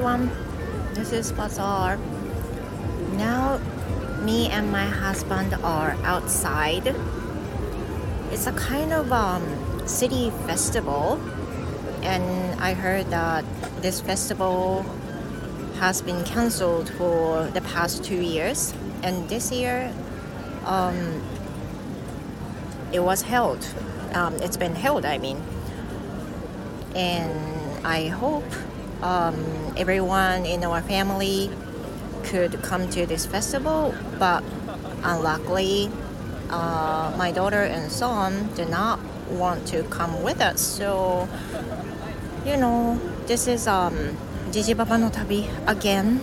everyone, this is Bazaar. Now me and my husband are outside. It's a kind of city festival, and I heard that this festival has been cancelled for the past 2 years, and this year it was held. It's been held, I mean. And I hope everyone in our family could come to this festival, but unluckily my daughter and son did not want to come with us. So this is Jiji Papa no Tabi again,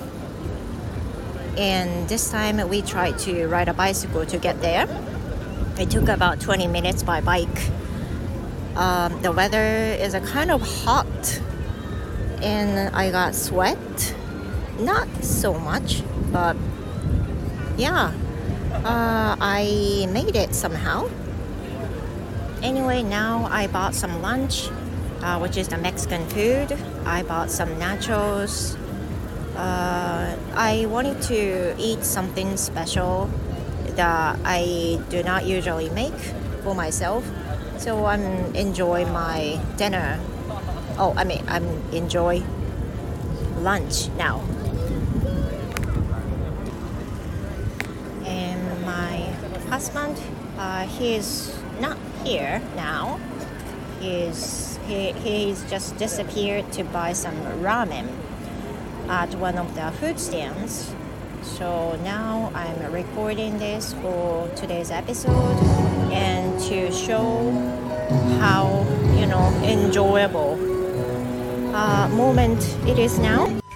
and this time we tried to ride a bicycle to get there. It took about 20 minutes by bike. The weather is a kind of hot, and I got sweat. Not so much, but yeah, I made it somehow. Anyway, now I bought some lunch, which is the Mexican food. I bought some nachos. I wanted to eat something special that I do not usually make for myself. So I'm enjoying my dinner. I'm enjoy lunch now. And my husband, he's not here now. He's just disappeared to buy some ramen at one of the food stands. So now I'm recording this for today's episode and to show how enjoyable moment it is now.